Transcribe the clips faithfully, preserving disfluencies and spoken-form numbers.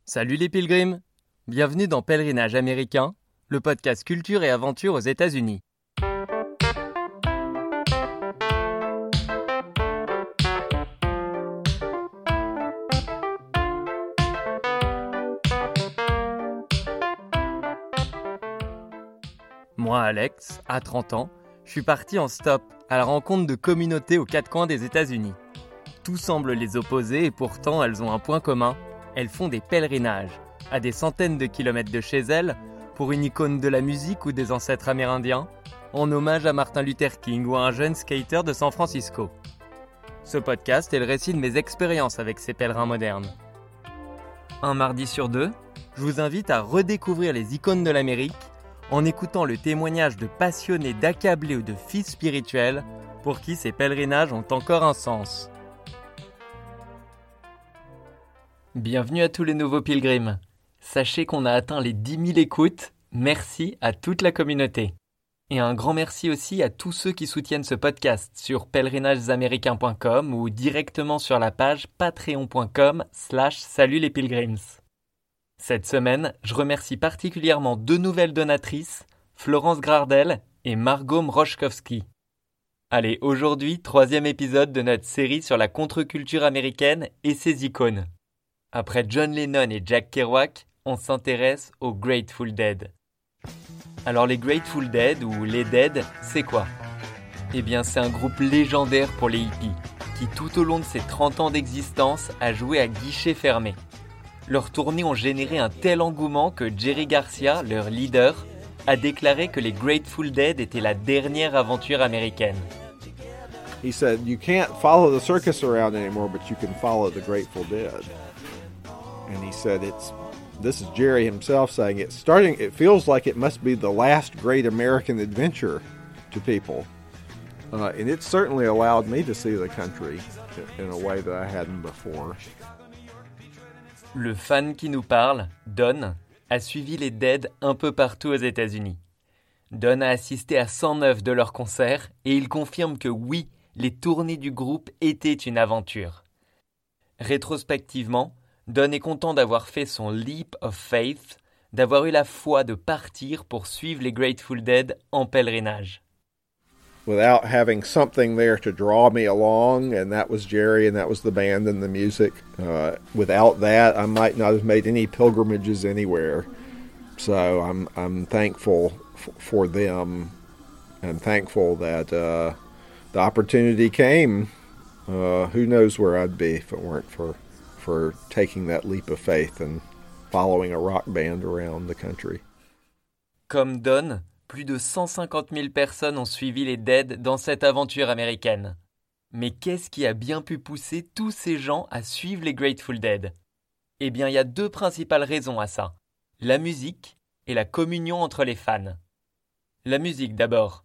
Salut les pilgrims! Bienvenue dans Pèlerinage américain, le podcast culture et aventure aux États-Unis. Moi, Alex, à trente ans, je suis parti en stop à la rencontre de communautés aux quatre coins des États-Unis. Tout semble les opposer et pourtant elles ont un point commun. Elles font des pèlerinages, à des centaines de kilomètres de chez elles, pour une icône de la musique ou des ancêtres amérindiens, en hommage à Martin Luther King ou à un jeune skater de San Francisco. Ce podcast est le récit de mes expériences avec ces pèlerins modernes. Un mardi sur deux, je vous invite à redécouvrir les icônes de l'Amérique en écoutant le témoignage de passionnés, d'accablés ou de fils spirituels pour qui ces pèlerinages ont encore un sens. Bienvenue à tous les nouveaux pilgrims. Sachez qu'on a atteint les dix mille écoutes. Merci à toute la communauté. Et un grand merci aussi à tous ceux qui soutiennent ce podcast sur pèlerinagesaméricains point com ou directement sur la page patreon point com slash salut les pilgrims. Cette semaine, je remercie particulièrement deux nouvelles donatrices, Florence Gardel et Margot Mrochkowski. Allez, aujourd'hui, troisième épisode de notre série sur la contre-culture américaine et ses icônes. Après John Lennon et Jack Kerouac, on s'intéresse aux Grateful Dead. Alors les Grateful Dead ou les Dead, c'est quoi ? Eh bien c'est un groupe légendaire pour les hippies, qui tout au long de ses trente ans d'existence a joué à guichet fermé. Leurs tournées ont généré un tel engouement que Jerry Garcia, leur leader, a déclaré que les Grateful Dead étaient la dernière aventure américaine. He said, you can't follow the circus around anymore, but you can follow the Grateful Dead. And he said, it's, this is Jerry himself saying, it's starting, it feels like it must be the last great American adventure to people. Uh, and it certainly allowed me to see the country in a way that I hadn't before. Le fan qui nous parle, Don, a suivi les Dead un peu partout aux États-Unis. Don a assisté à cent neuf de leurs concerts et il confirme que oui, les tournées du groupe étaient une aventure. Rétrospectivement, Don est content d'avoir fait son leap of faith, d'avoir eu la foi de partir pour suivre les Grateful Dead en pèlerinage. Without having something there to draw me along, and that was Jerry, and that was the band and the music. Uh, without that, I might not have made any pilgrimages anywhere. So I'm I'm thankful f- for them, and thankful that uh, the opportunity came. Uh, who knows where I'd be if it weren't for for taking that leap of faith and following a rock band around the country. Comme Don, plus de cent cinquante mille personnes ont suivi les Dead dans cette aventure américaine. Mais qu'est-ce qui a bien pu pousser tous ces gens à suivre les Grateful Dead ? Eh bien, il y a deux principales raisons à ça. La musique et la communion entre les fans. La musique d'abord.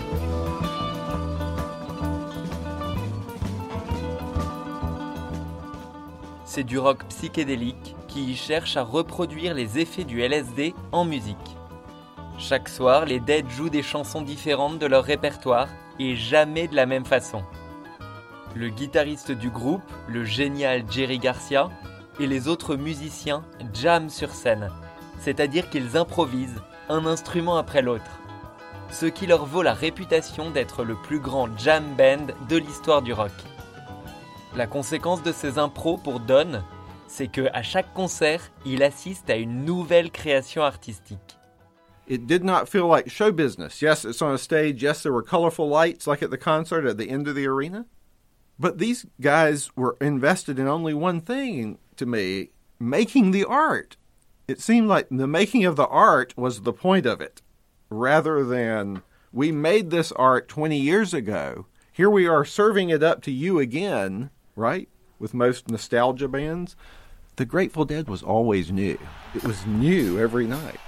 C'est du rock psychédélique qui cherche à reproduire les effets du L S D en musique. Chaque soir, les Dead jouent des chansons différentes de leur répertoire et jamais de la même façon. Le guitariste du groupe, le génial Jerry Garcia, et les autres musiciens jamment sur scène, c'est-à-dire qu'ils improvisent un instrument après l'autre. Ce qui leur vaut la réputation d'être le plus grand jam band de l'histoire du rock. La conséquence de ces impros pour Don, c'est qu'à chaque concert, il assiste à une nouvelle création artistique. It did not feel like show business. Yes, it's on a stage. Yes, there were colorful lights like at the concert at the end of the arena. But these guys were invested in only one thing to me, making the art. It seemed like the making of the art was the point of it, rather than we made this art twenty years ago. Here we are serving it up to you again, right? With most nostalgia bands. The Grateful Dead was always new. It was new every night.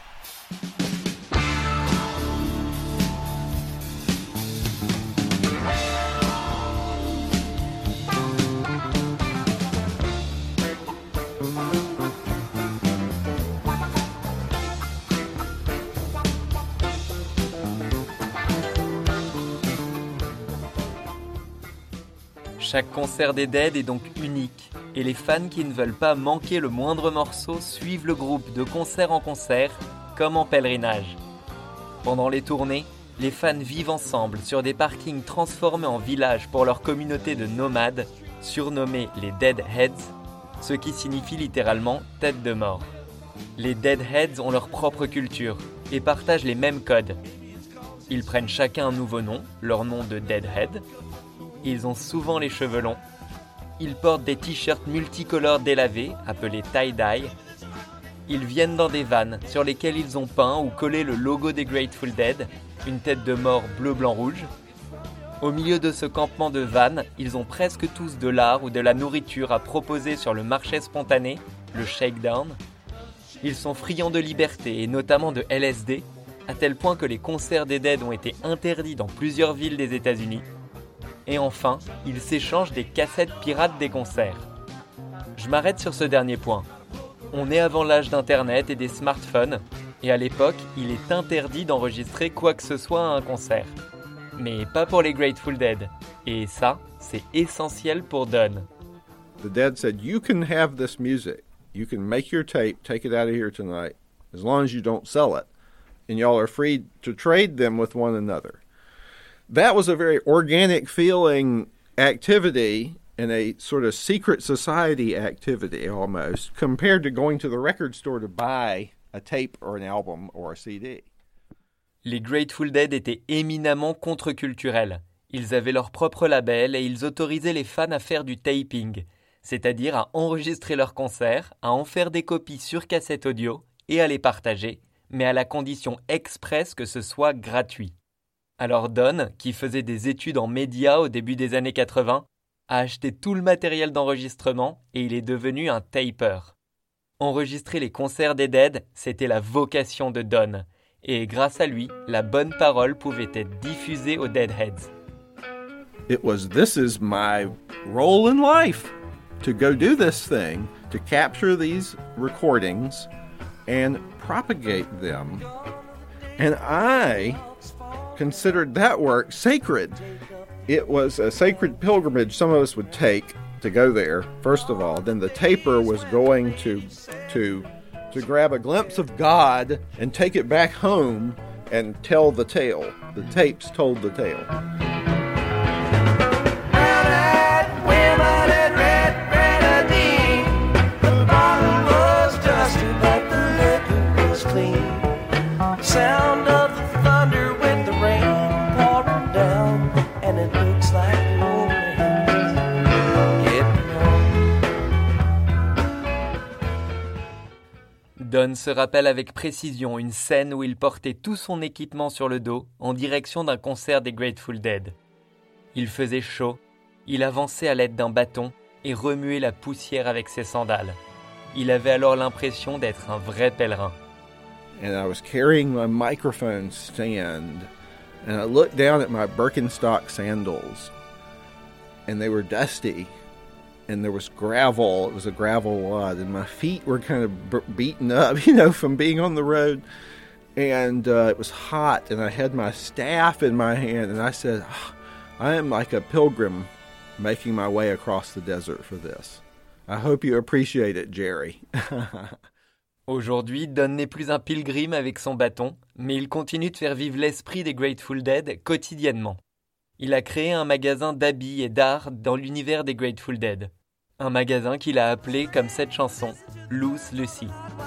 Chaque concert des Dead est donc unique, Et les fans qui ne veulent pas manquer le moindre morceau suivent le groupe de concert en concert, comme en pèlerinage. Pendant les tournées, les fans vivent ensemble sur des parkings transformés en villages pour leur communauté de nomades, surnommés les Deadheads, ce qui signifie littéralement « tête de mort ». Les Deadheads ont leur propre culture et partagent les mêmes codes. Ils prennent chacun un nouveau nom, leur nom de Deadhead. Ils ont souvent les cheveux longs. Ils portent des t-shirts multicolores délavés, appelés tie-dye. Ils viennent dans des vannes sur lesquelles ils ont peint ou collé le logo des Grateful Dead, une tête de mort bleu-blanc-rouge. Au milieu de ce campement de vannes, ils ont presque tous de l'art ou de la nourriture à proposer sur le marché spontané, le shakedown. Ils sont friands de liberté et notamment de L S D, à tel point que les concerts des Dead ont été interdits dans plusieurs villes des États-Unis. Et enfin, ils s'échangent des cassettes pirates des concerts. Je m'arrête sur ce dernier point. On est avant l'âge d'Internet et des smartphones, et à l'époque, il est interdit d'enregistrer quoi que ce soit à un concert. Mais pas pour les Grateful Dead. Et ça, c'est essentiel pour Don. The Dead said, "You can have this music. You can make your tape, take it out of here tonight, as long as you don't sell it. And y'all are free to trade them with one another." That was a very organic feeling activity and a sort of secret society activity almost, compared to going to the record store to buy a tape or an album or a C D. Les Grateful Dead étaient éminemment contre-culturels. Ils avaient leur propre label et ils autorisaient les fans à faire du taping, c'est-à-dire à enregistrer leurs concerts, à en faire des copies sur cassette audio et à les partager, mais à la condition expresse que ce soit gratuit. Alors Don, qui faisait des études en médias au début des années quatre-vingts, a acheté tout le matériel d'enregistrement et il est devenu un taper. Enregistrer les concerts des Dead, c'était la vocation de Don. Et grâce à lui, la bonne parole pouvait être diffusée aux Deadheads. It was, this is my role in life, to go do this thing, to capture these recordings and propagate them. And I considered that work sacred. It was a sacred pilgrimage some of us would take to go there, first of all. Then the taper was going to to to grab a glimpse of God and take it back home and tell the tale. The tapes told the tale. Don se rappelle avec précision une scène où il portait tout son équipement sur le dos en direction d'un concert des Grateful Dead. Il faisait chaud, il avançait à l'aide d'un bâton et remuait la poussière avec ses sandales. Il avait alors l'impression d'être un vrai pèlerin. And I was carrying my microphone stand and I looked down at my Birkenstock sandals and they were dusty. And there was gravel. It was a gravel wad, and my feet were kind of b- beaten up, you know, from being on the road. And uh, it was hot, and I had my staff in my hand, and I said, oh, I am like a pilgrim making my way across the desert for this. I hope you appreciate it, Jerry. Aujourd'hui, Don n'est plus un pilgrim avec son bâton, mais il continue de faire vivre l'esprit des Grateful Dead quotidiennement. Il a créé un magasin d'habits et d'art dans l'univers des Grateful Dead. Un magasin qu'il a appelé comme cette chanson, Loose Lucy.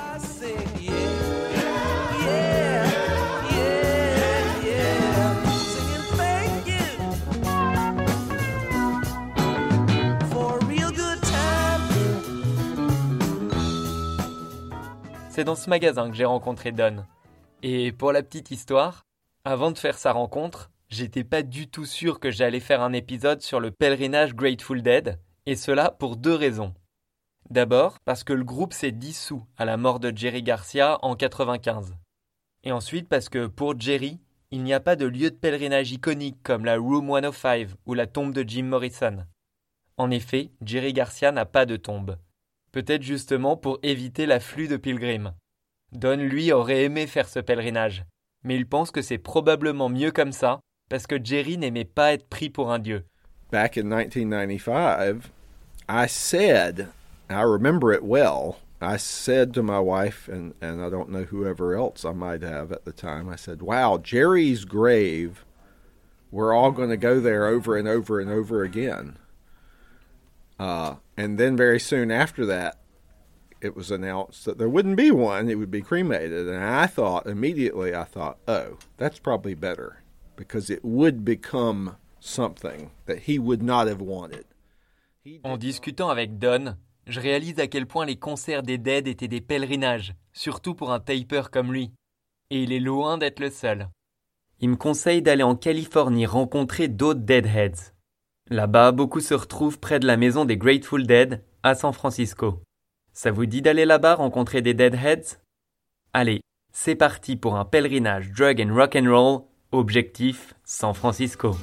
C'est dans ce magasin que j'ai rencontré Don. Et pour la petite histoire, avant de faire sa rencontre, j'étais pas du tout sûr que j'allais faire un épisode sur le pèlerinage Grateful Dead, et cela pour deux raisons. D'abord, parce que le groupe s'est dissous à la mort de Jerry Garcia en quatre-vingt-quinze. Et ensuite parce que pour Jerry, il n'y a pas de lieu de pèlerinage iconique comme la Room cent cinq ou la tombe de Jim Morrison. En effet, Jerry Garcia n'a pas de tombe. Peut-être justement pour éviter l'afflux de pilgrims. Don, lui, aurait aimé faire ce pèlerinage, mais il pense que c'est probablement mieux comme ça, parce que Jerry n'aimait pas être pris pour un dieu. Back in nineteen ninety-five, I said, I remember it well, I said to my wife, and, and I don't know whoever else I might have at the time, I said, wow, Jerry's grave, we're all going to go there over and over and over again. Uh, and then very soon after that, it was announced that there wouldn't be one, it would be cremated. And I thought, immediately I thought, oh, that's probably better, because it would become something that he would not have wanted. En discutant avec Don, je réalise à quel point les concerts des Dead étaient des pèlerinages, surtout pour un taper comme lui. Et il est loin d'être le seul. Il me conseille d'aller en Californie rencontrer d'autres Deadheads. Là-bas, beaucoup se retrouvent près de la maison des Grateful Dead, à San Francisco. Ça vous dit d'aller là-bas rencontrer des Deadheads ? Allez, c'est parti pour un pèlerinage drug and rock'n'roll, objectif San Francisco.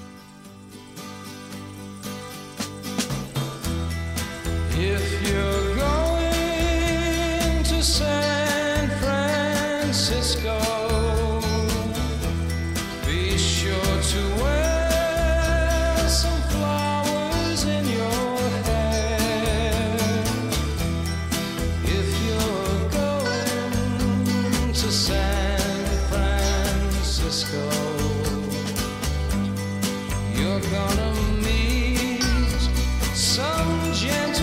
If you're going to San Francisco, be sure to wear some flowers in your hair. If you're going to San Francisco, you're gonna meet some gentle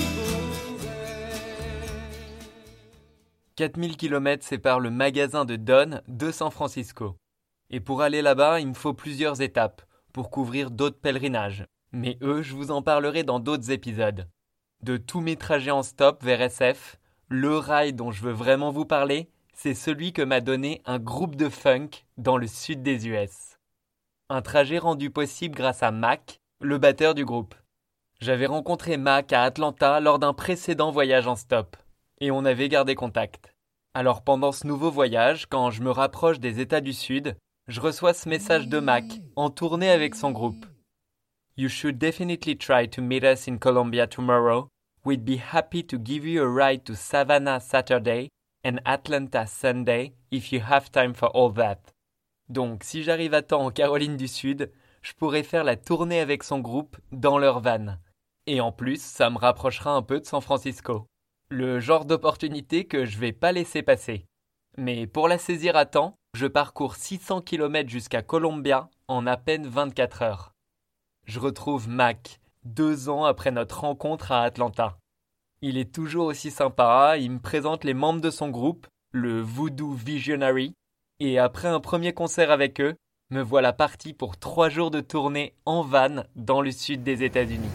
quatre mille kilomètres séparent le magasin de Don de San Francisco. Et pour aller là-bas, il me faut plusieurs étapes pour couvrir d'autres pèlerinages. Mais eux, je vous en parlerai dans d'autres épisodes. De tous mes trajets en stop vers S F, le rail dont je veux vraiment vous parler, c'est celui que m'a donné un groupe de funk dans le sud des U S. Un trajet rendu possible grâce à Mac, le batteur du groupe. J'avais rencontré Mac à Atlanta lors d'un précédent voyage en stop. Et on avait gardé contact. Alors pendant ce nouveau voyage, quand je me rapproche des États du Sud, je reçois ce message de Mac, en tournée avec son groupe. You should definitely try to meet us in Colombia tomorrow. We'd be happy to give you a ride to Savannah Saturday and Atlanta Sunday if you have time for all that. Donc si j'arrive à temps en Caroline du Sud, je pourrais faire la tournée avec son groupe dans leur van. Et en plus, ça me rapprochera un peu de San Francisco. Le genre d'opportunité que je vais pas laisser passer. Mais pour la saisir à temps, je parcours six cents kilomètres jusqu'à Columbia en à peine vingt-quatre heures. Je retrouve Mac, deux ans après notre rencontre à Atlanta. Il est toujours aussi sympa, il me présente les membres de son groupe, le Voodoo Visionary, et après un premier concert avec eux, me voilà parti pour trois jours de tournée en van dans le sud des États-Unis.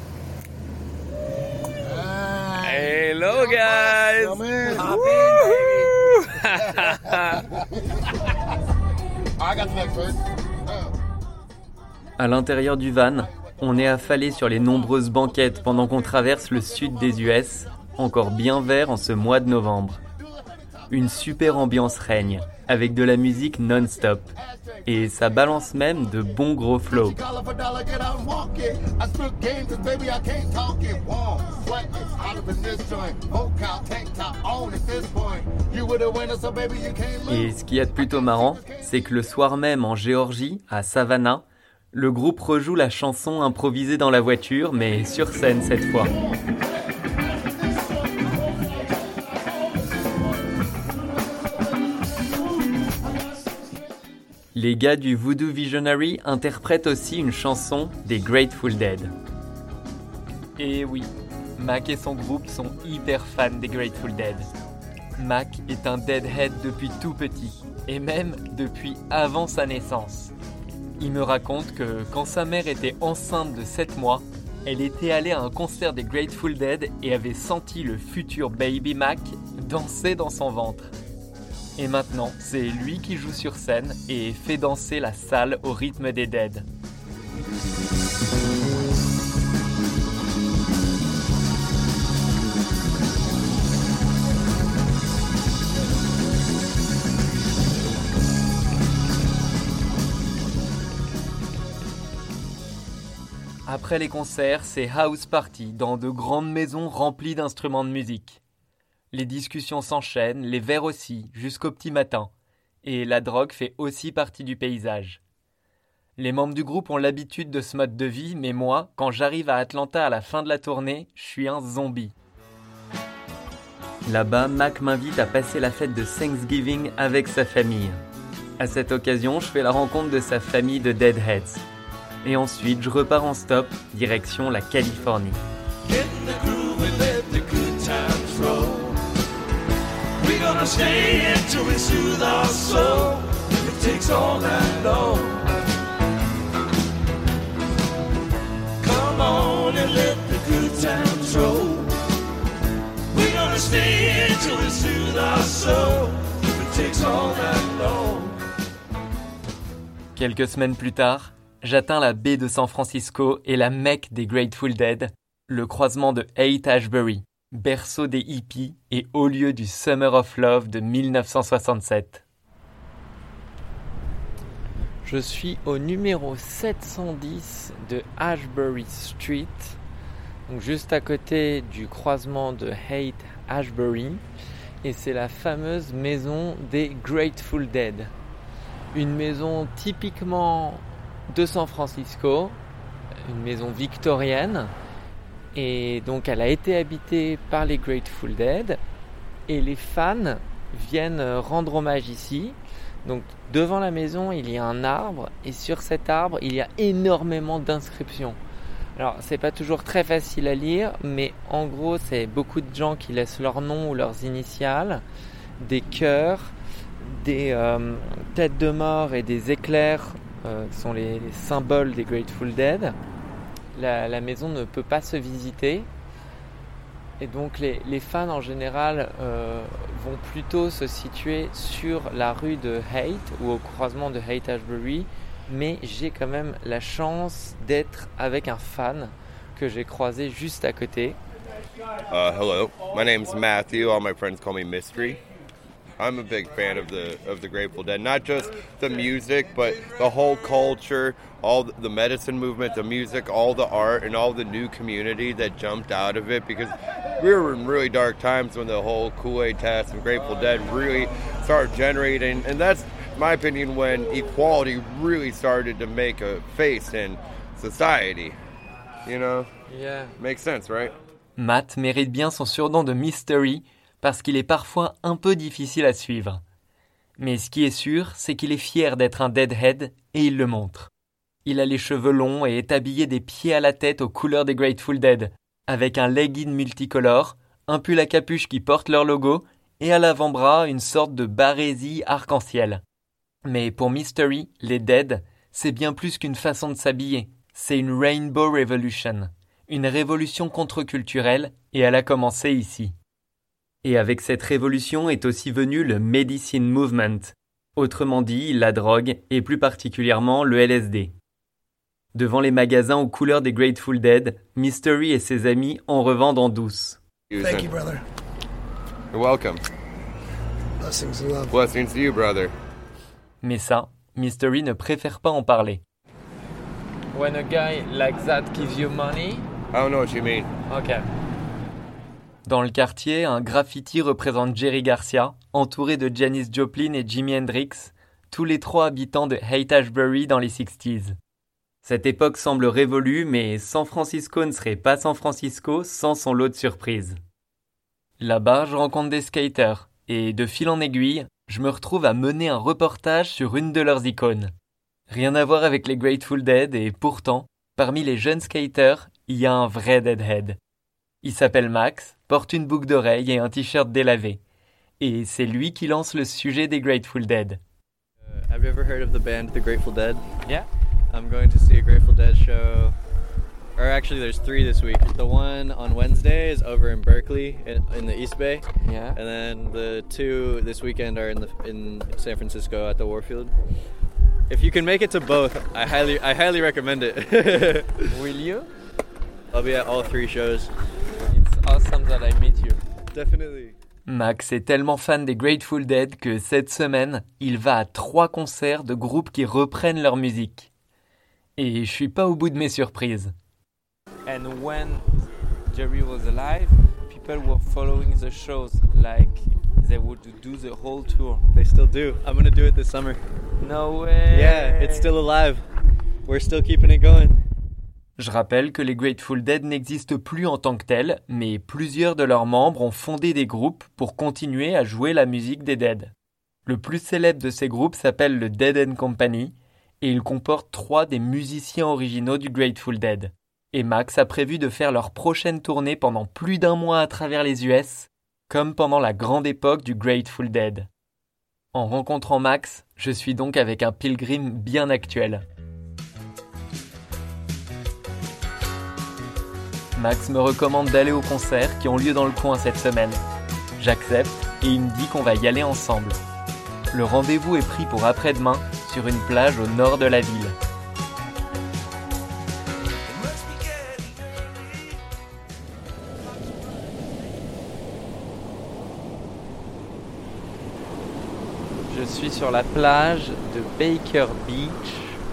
Hello guys! Come in. Hop I got the next one. À l'intérieur du van, on est affalé sur les nombreuses banquettes pendant qu'on traverse le sud des U S, encore bien vert en ce mois de novembre. Une super ambiance règne, avec de la musique non-stop. Et ça balance même de bons gros flows. Et ce qu'il y a de plutôt marrant, c'est que le soir même en Géorgie, à Savannah, le groupe rejoue la chanson improvisée dans la voiture, mais sur scène cette fois. Les gars du Voodoo Visionary interprètent aussi une chanson des Grateful Dead. Et oui, Mac et son groupe sont hyper fans des Grateful Dead. Mac est un Deadhead depuis tout petit, et même depuis avant sa naissance. Il me raconte que quand sa mère était enceinte de sept mois, elle était allée à un concert des Grateful Dead et avait senti le futur Baby Mac danser dans son ventre. Et maintenant, c'est lui qui joue sur scène et fait danser la salle au rythme des Dead. Après les concerts, c'est house party dans de grandes maisons remplies d'instruments de musique. Les discussions s'enchaînent, les verres aussi, jusqu'au petit matin. Et la drogue fait aussi partie du paysage. Les membres du groupe ont l'habitude de ce mode de vie, mais moi, quand j'arrive à Atlanta à la fin de la tournée, je suis un zombie. Là-bas, Mac m'invite à passer la fête de Thanksgiving avec sa famille. À cette occasion, je fais la rencontre de sa famille de Deadheads. Et ensuite, je repars en stop, direction la Californie. Get in the groove and let the good times roll. We're gonna stay until we soothe our soul. It takes all night long. Come on and let the good times roll. We're gonna stay until we soothe our soul. It takes all night long. Quelques semaines plus tard, j'atteins la baie de San Francisco et la Mecque des Grateful Dead, le croisement de Haight-Ashbury, berceau des hippies et haut lieu du Summer of Love de dix-neuf cent soixante-sept. Je suis au numéro sept cent dix de Ashbury Street, donc juste à côté du croisement de Haight-Ashbury, et c'est la fameuse maison des Grateful Dead. Une maison typiquement de San Francisco, une maison victorienne, et donc elle a été habitée par les Grateful Dead, et les fans viennent rendre hommage ici. Donc devant la maison, il y a un arbre, et sur cet arbre, il y a énormément d'inscriptions. Alors c'est pas toujours très facile à lire, mais en gros, c'est beaucoup de gens qui laissent leur nom ou leurs initiales, des cœurs, des euh, têtes de mort et des éclairs euh, qui sont les, les symboles des Grateful Dead. La, la maison ne peut pas se visiter, et donc les, les fans en général euh, vont plutôt se situer sur la rue de Haight ou au croisement de Haight-Ashbury, mais j'ai quand même la chance d'être avec un fan que j'ai croisé juste à côté. Uh, hello, my name's Matthew. All my friends call me Mystery. I'm a big fan of the of the Grateful Dead, not just the music, but the whole culture, all the medicine movement, the music, all the art, and all the new community that jumped out of it, because we were in really dark times when the whole Kool-Aid test and Grateful Dead really started generating, and that's, in my opinion, when equality really started to make a face in society. You know? Yeah. Makes sense, right? Matt mérite bien son surnom de Mystery, parce qu'il est parfois un peu difficile à suivre. Mais ce qui est sûr, c'est qu'il est fier d'être un Deadhead, et il le montre. Il a les cheveux longs et est habillé des pieds à la tête aux couleurs des Grateful Dead, avec un legging multicolore, un pull à capuche qui porte leur logo, et à l'avant-bras une sorte de barésie arc-en-ciel. Mais pour Mystery, les Dead, c'est bien plus qu'une façon de s'habiller. C'est une Rainbow Revolution, une révolution contre-culturelle, et elle a commencé ici. Et avec cette révolution est aussi venu le Medicine Movement, autrement dit la drogue et plus particulièrement le L S D. Devant les magasins aux couleurs des Grateful Dead, Mystery et ses amis en revendent en douce. Thank you, brother. You're welcome. Blessings and love. Blessings to you, brother. Mais ça, Mystery ne préfère pas en parler. When a guy like that gives you money, I don't know what you mean. okay. Dans le quartier, un graffiti représente Jerry Garcia, entouré de Janis Joplin et Jimi Hendrix, tous les trois habitants de Haight-Ashbury dans les sixties. Cette époque semble révolue, mais San Francisco ne serait pas San Francisco sans son lot de surprises. Là-bas, je rencontre des skaters, et de fil en aiguille, je me retrouve à mener un reportage sur une de leurs icônes. Rien à voir avec les Grateful Dead, et pourtant, parmi les jeunes skaters, il y a un vrai Deadhead. Il s'appelle Max, porte une boucle d'oreille et un t-shirt délavé. Et c'est lui qui lance le sujet des Grateful Dead. Uh, have you ever heard of the band The Grateful Dead? Yeah. I'm going to see a Grateful Dead show, or actually there's three this week. The one on Wednesday is over in Berkeley in, in the East Bay. Yeah. And then the two this weekend are in the in San Francisco at the Warfield. If you can make it to both, I highly I highly recommend it. Will you? I'll be at all three shows. It's awesome that I meet you. Definitely. Max est tellement fan des Grateful Dead que cette semaine, il va à trois concerts de groupes qui reprennent leur musique. Et je suis pas au bout de mes surprises. And when Jerry was alive, people were following the shows like they would do the whole tour. They still do. I'm gonna do it this summer. No way. Yeah, it's still alive. we're still keeping it going. Je rappelle que les Grateful Dead n'existent plus en tant que tels, mais plusieurs de leurs membres ont fondé des groupes pour continuer à jouer la musique des Dead. Le plus célèbre de ces groupes s'appelle le Dead and Company, et il comporte trois des musiciens originaux du Grateful Dead. Et Max a prévu de faire leur prochaine tournée pendant plus d'un mois à travers les U S, comme pendant la grande époque du Grateful Dead. En rencontrant Max, je suis donc avec un pilgrim bien actuel. Max me recommande d'aller aux concerts qui ont lieu dans le coin cette semaine. J'accepte et il me dit qu'on va y aller ensemble. Le rendez-vous est pris pour après-demain sur une plage au nord de la ville. Je suis sur la plage de Baker Beach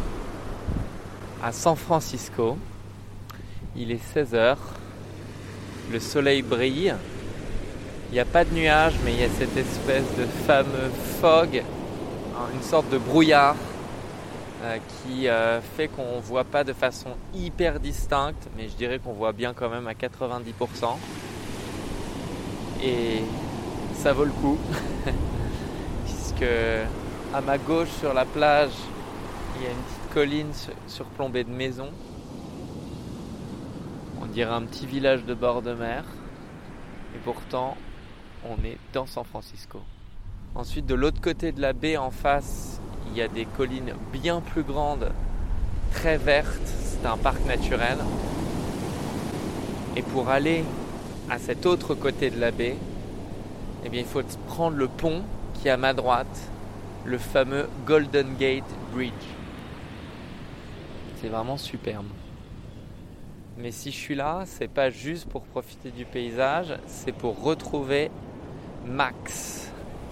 à San Francisco. Il est seize heures, le soleil brille, il n'y a pas de nuages mais il y a cette espèce de fameux fog, une sorte de brouillard euh, qui euh, fait qu'on ne voit pas de façon hyper distincte, mais je dirais qu'on voit bien quand même à quatre-vingt-dix pour cent. Et ça vaut le coup, puisque à ma gauche sur la plage, il y a une petite colline surplombée de maisons. On dirait un petit village de bord de mer. Et pourtant, on est dans San Francisco. Ensuite, de l'autre côté de la baie, en face, il y a des collines bien plus grandes, très vertes. C'est un parc naturel. Et pour aller à cet autre côté de la baie, eh bien, il faut prendre le pont qui est à ma droite, le fameux Golden Gate Bridge. C'est vraiment superbe. Mais si je suis là, c'est pas juste pour profiter du paysage, c'est pour retrouver Max.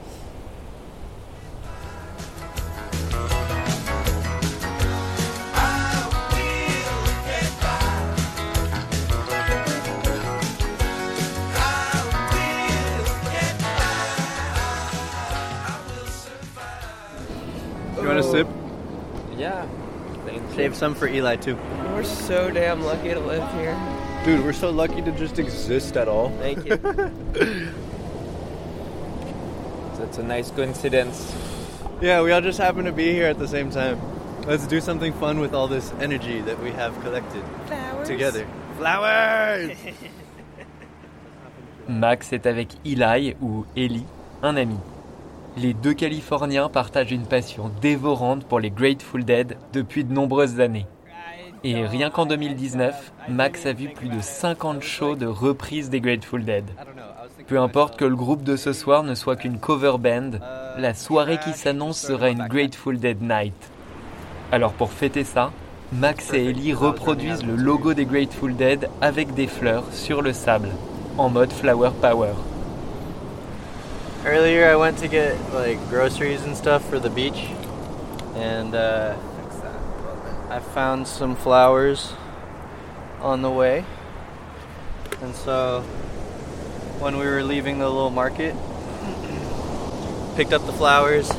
You want a sip? Yeah. Thank you. Save some for Eli too. We're so damn lucky to live here. Dude, we're so lucky to just exist at all. Thank you. That's a nice coincidence. Yeah, we all just happen to be here at the same time. Let's do something fun with all this energy that we have collected. Flowers. Together. Flowers! Max est avec Eli, ou Eli, un ami. Les deux Californiens partagent une passion dévorante pour les Grateful Dead depuis de nombreuses années. Et rien qu'en deux mille dix-neuf, Max a vu plus de cinquante shows de reprises des Grateful Dead. Peu importe que le groupe de ce soir ne soit qu'une cover band, la soirée qui s'annonce sera une Grateful Dead Night. Alors pour fêter ça, Max et Eli reproduisent le logo des Grateful Dead avec des fleurs sur le sable, en mode Flower Power. Earlier I went to get like groceries and stuff for the beach, and uh, I found some flowers on the way. And so when we were leaving the little market, picked up the flowers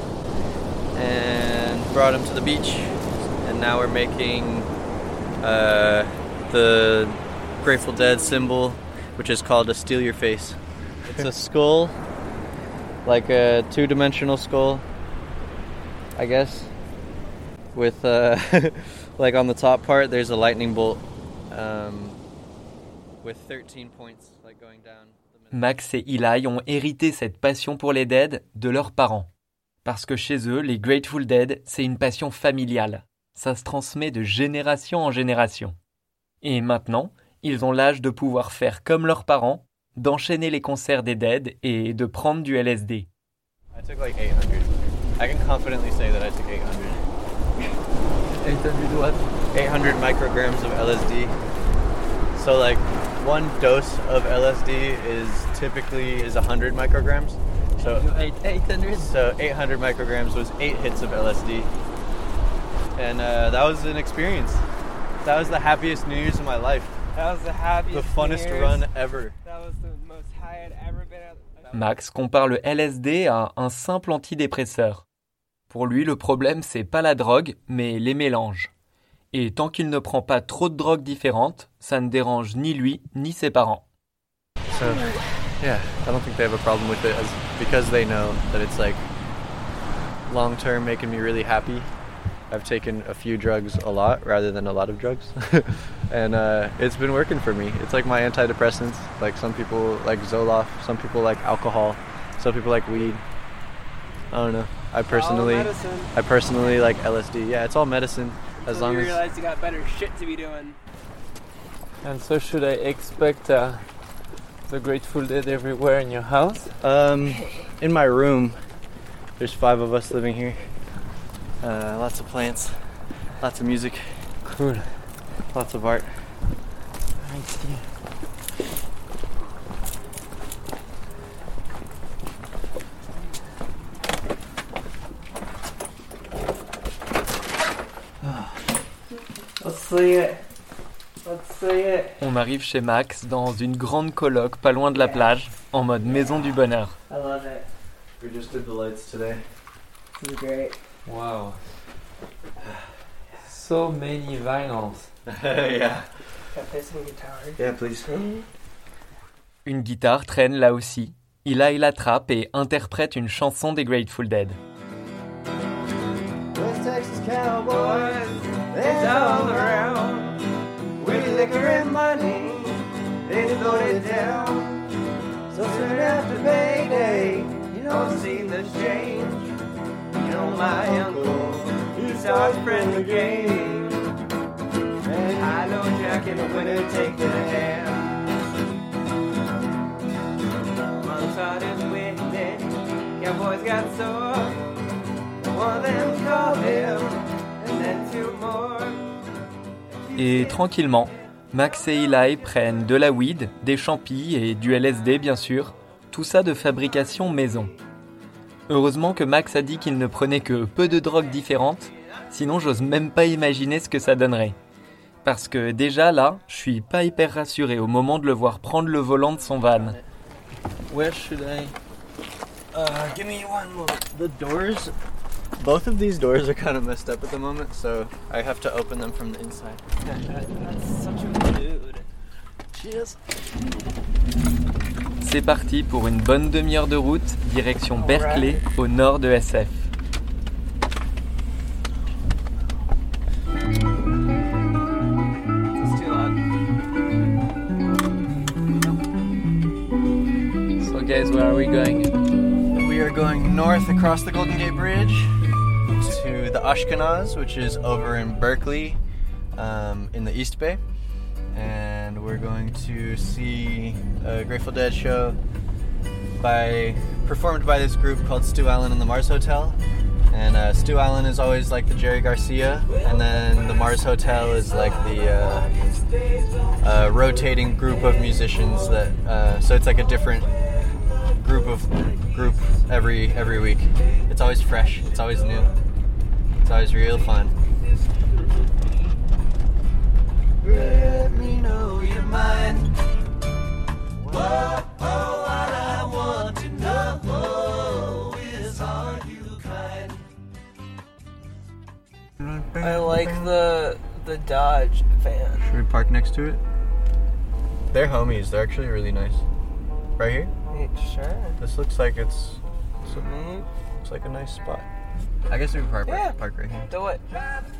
and brought them to the beach, and now we're making uh, the Grateful Dead symbol, which is called a steal your face. It's a skull, like a two-dimensional skull, I guess, with uh, like on the top part there's a lightning bolt um, with thirteen points like going down. Max et Eli ont hérité cette passion pour les Dead de leurs parents. Parce que chez eux, les Grateful Dead, c'est une passion familiale. Ça se transmet de génération en génération. Et maintenant, ils ont l'âge de pouvoir faire comme leurs parents, d'enchaîner les concerts des Dead et de prendre du L S D. I took like eight hundred. I can confidently say that I took eight hundred. eight hundred what? eight hundred micrograms of L S D. So like one dose of L S D is typically is one hundred micrograms. So You ate eight hundred? So eight hundred micrograms was eight hits of L S D. And uh, that was an experience. That was the happiest New Year's of my life. That was the happiest The funnest New Year's. run ever. That was the most high I'd ever been at. Max compare le L S D à un simple antidépresseur. Pour lui, le problème, c'est pas la drogue, mais les mélanges. Et tant qu'il ne prend pas trop de drogues différentes, ça ne dérange ni lui ni ses parents. So, yeah, I don't think they have a problem with it as, because they know that it's like long term making me really happy. I've taken a few drugs a lot rather than a lot of drugs. and uh, it's been working for me. It's like my antidepressants. Like some people like Zoloft, some people like alcohol, some people like weed. I don't know. I personally, I personally like L S D. Yeah, it's all medicine. As so long you as realize you got better shit to be doing. And so should I expect uh, the Grateful Dead everywhere in your house? Um, in my room, there's five of us living here. Uh, lots of plants, lots of music. Cool. Lots of art. I see. Let's see it. Let's see it. On arrive chez Max dans une grande coloc pas loin de la plage, en mode maison du bonheur. I love it. We just did the lights today. This is great. Wow. So many vinyls. yeah. Can I play some guitar? Yeah, please. Une guitare traîne là aussi. Eli l'attrape et interprète une chanson des Grateful Dead. West Texas cowboys, they're all around. With liquor and money, they floated down. So soon after payday, you don't see the change. You know my uncle, he starts spreading the game. And I know Jack in the winter take it a hand. Months out is windy, cowboys got sore. One of them called him, and then two more. Et tranquillement, Max et Eli prennent de la weed, des champis et du L S D bien sûr, tout ça de fabrication maison. Heureusement que Max a dit qu'il ne prenait que peu de drogues différentes, sinon j'ose même pas imaginer ce que ça donnerait. Parce que déjà là, je suis pas hyper rassuré au moment de le voir prendre le volant de son van. Where should I? Uh, give me one moment. The doors, both of these doors are kind of messed up at the moment, so I have to open them from the inside. That's such a dude. Cheers. C'est parti pour une bonne demi-heure de route, direction Berkeley, au nord de S F. It's too loud. So guys, where are we going? We are going north across the Golden Gate Bridge to the Ashkenaz, which is over in Berkeley, um, in the East Bay. And we're going to see a Grateful Dead show by performed by this group called Stu Allen and the Mars Hotel. And uh, Stu Allen is always like the Jerry Garcia, and then the Mars Hotel is like the uh, uh, rotating group of musicians that. Uh, so it's like a different group of group every every week. It's always fresh. It's always new. It's always real fun. Let me know your mind. Whoa, oh, what I want to know is, are you kind? I like the the Dodge van. Should we park next to it? They're homies. They're actually really nice. Right here? Sure. This looks like it's. This looks like a nice spot. I guess we can park, Yeah. right, park right here. Do it.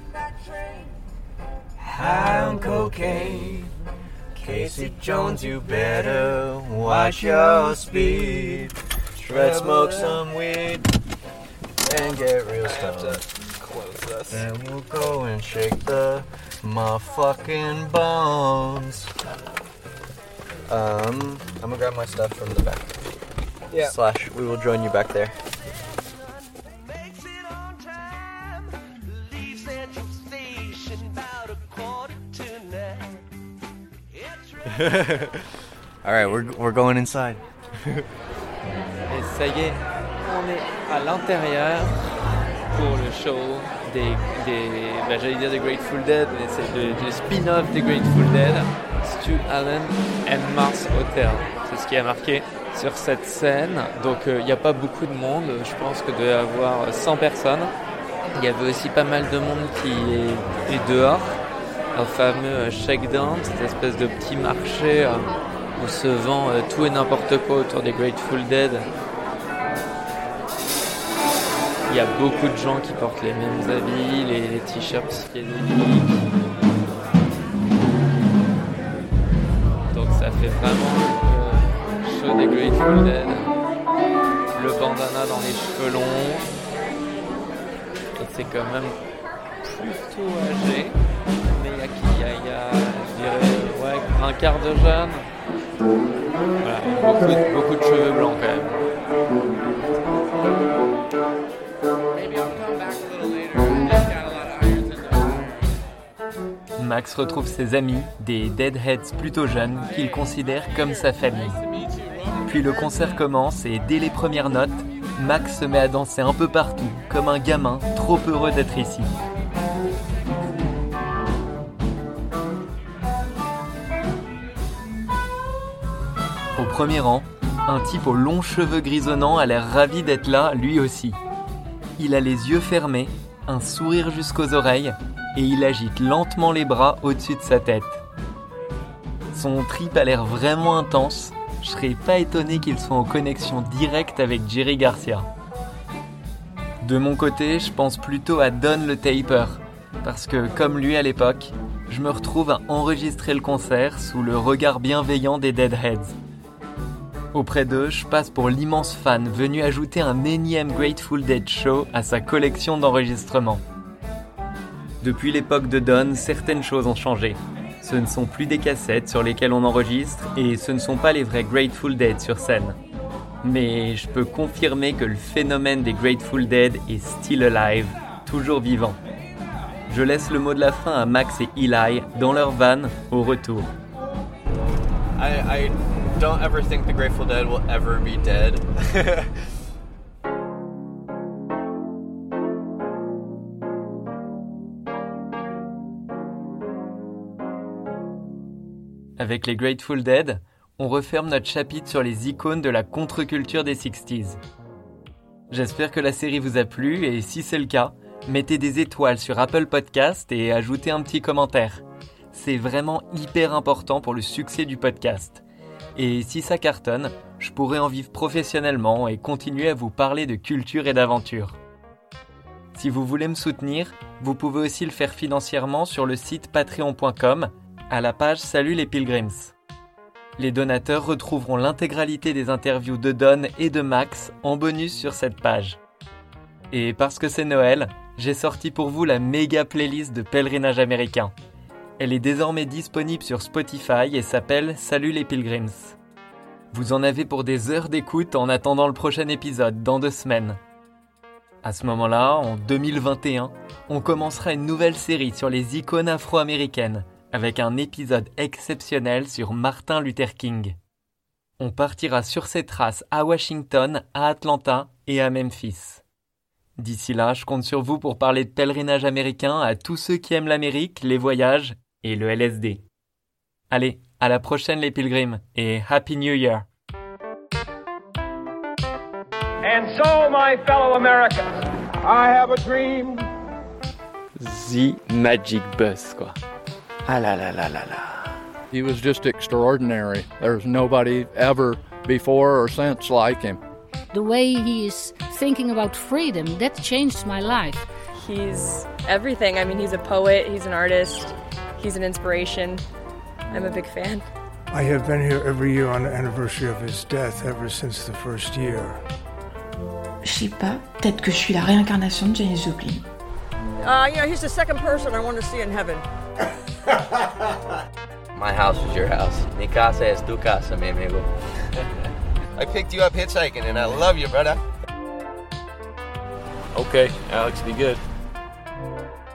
High on cocaine. Casey Jones, you better watch your speed. Let's smoke some weed and get real stoned. Close this. Then we'll go and shake the motherfucking bones. Um, I'm gonna grab my stuff from the back. Yeah. Slash, we will join you back there. Makes it on time. Leave Central Station about a quarter to nine. It's All right, we're we're going inside. Et ça y est, on est à l'intérieur pour le show des, des bah, j'allais dire des Grateful Dead, mais c'est le, le spin-off des Grateful Dead, Stu Allen and Mars Hotel. C'est ce qui a marqué sur cette scène. Donc il euh, n'y a pas beaucoup de monde, je pense que doit y avoir cent personnes. Il y avait aussi pas mal de monde qui est, est dehors. au fameux Shakedown, cette espèce de petit marché euh, où se vend euh, tout et n'importe quoi autour des Grateful Dead. Il y a beaucoup de gens qui portent les mêmes habits, les, les t-shirts psychédéliques. Donc ça fait vraiment le show des Grateful Dead. Le bandana dans les cheveux longs. Et c'est quand même plutôt âgé. Mais il y a qui il y a, il y a je dirais, ouais, un quart de jeune. Voilà, beaucoup de, beaucoup de cheveux blancs quand même. Max retrouve ses amis, des Deadheads plutôt jeunes, qu'il considère comme sa famille. Puis le concert commence et dès les premières notes, Max se met à danser un peu partout, comme un gamin trop heureux d'être ici. Au premier rang, un type aux longs cheveux grisonnants a l'air ravi d'être là, lui aussi. Il a les yeux fermés, un sourire jusqu'aux oreilles, et il agite lentement les bras au-dessus de sa tête. Son trip a l'air vraiment intense, je serais pas étonné qu'il soit en connexion directe avec Jerry Garcia. De mon côté, je pense plutôt à Don le Taper, parce que comme lui à l'époque, je me retrouve à enregistrer le concert sous le regard bienveillant des Deadheads. Auprès d'eux, je passe pour l'immense fan venu ajouter un énième Grateful Dead show à sa collection d'enregistrements. Depuis l'époque de Don, certaines choses ont changé. Ce ne sont plus des cassettes sur lesquelles on enregistre et ce ne sont pas les vrais Grateful Dead sur scène. Mais je peux confirmer que le phénomène des Grateful Dead est still alive, toujours vivant. Je laisse le mot de la fin à Max et Eli dans leur van au retour. I, I don't ever think the Grateful Dead will ever be dead. Avec les Grateful Dead, on referme notre chapitre sur les icônes de la contre-culture des sixties. J'espère que la série vous a plu et si c'est le cas, mettez des étoiles sur Apple Podcast et ajoutez un petit commentaire. C'est vraiment hyper important pour le succès du podcast. Et si ça cartonne, je pourrai en vivre professionnellement et continuer à vous parler de culture et d'aventure. Si vous voulez me soutenir, vous pouvez aussi le faire financièrement sur le site patreon point com à la page Salut les Pilgrims. Les donateurs retrouveront l'intégralité des interviews de Don et de Max en bonus sur cette page. Et parce que c'est Noël, j'ai sorti pour vous la méga playlist de pèlerinage américain. Elle est désormais disponible sur Spotify et s'appelle Salut les Pilgrims. Vous en avez pour des heures d'écoute en attendant le prochain épisode dans deux semaines. À ce moment-là, en deux mille vingt et un, on commencera une nouvelle série sur les icônes afro-américaines, avec un épisode exceptionnel sur Martin Luther King. On partira sur ses traces à Washington, à Atlanta et à Memphis. D'ici là, je compte sur vous pour parler de pèlerinage américain à tous ceux qui aiment l'Amérique, les voyages et le L S D. Allez, à la prochaine les pilgrims et Happy New Year! And so, my fellow Americans, I have a dream. The Magic Bus, quoi. Ah là là là là là. He was just extraordinary. There's nobody ever before or since like him. The way he is thinking about freedom, that changed my life. He's everything. I mean, he's a poet, he's an artist, he's an inspiration. I'm a big fan. I have been here every year on the anniversary of his death ever since the first year. Je sais pas, peut-être que je suis la réincarnation de Janis Joplin. Uh, you know, he's the second person I want to see in heaven. My house is your house. Mi casa es tu casa, mi amigo. I picked you up hitchhiking and I love you, brother. Okay, Alex, be good.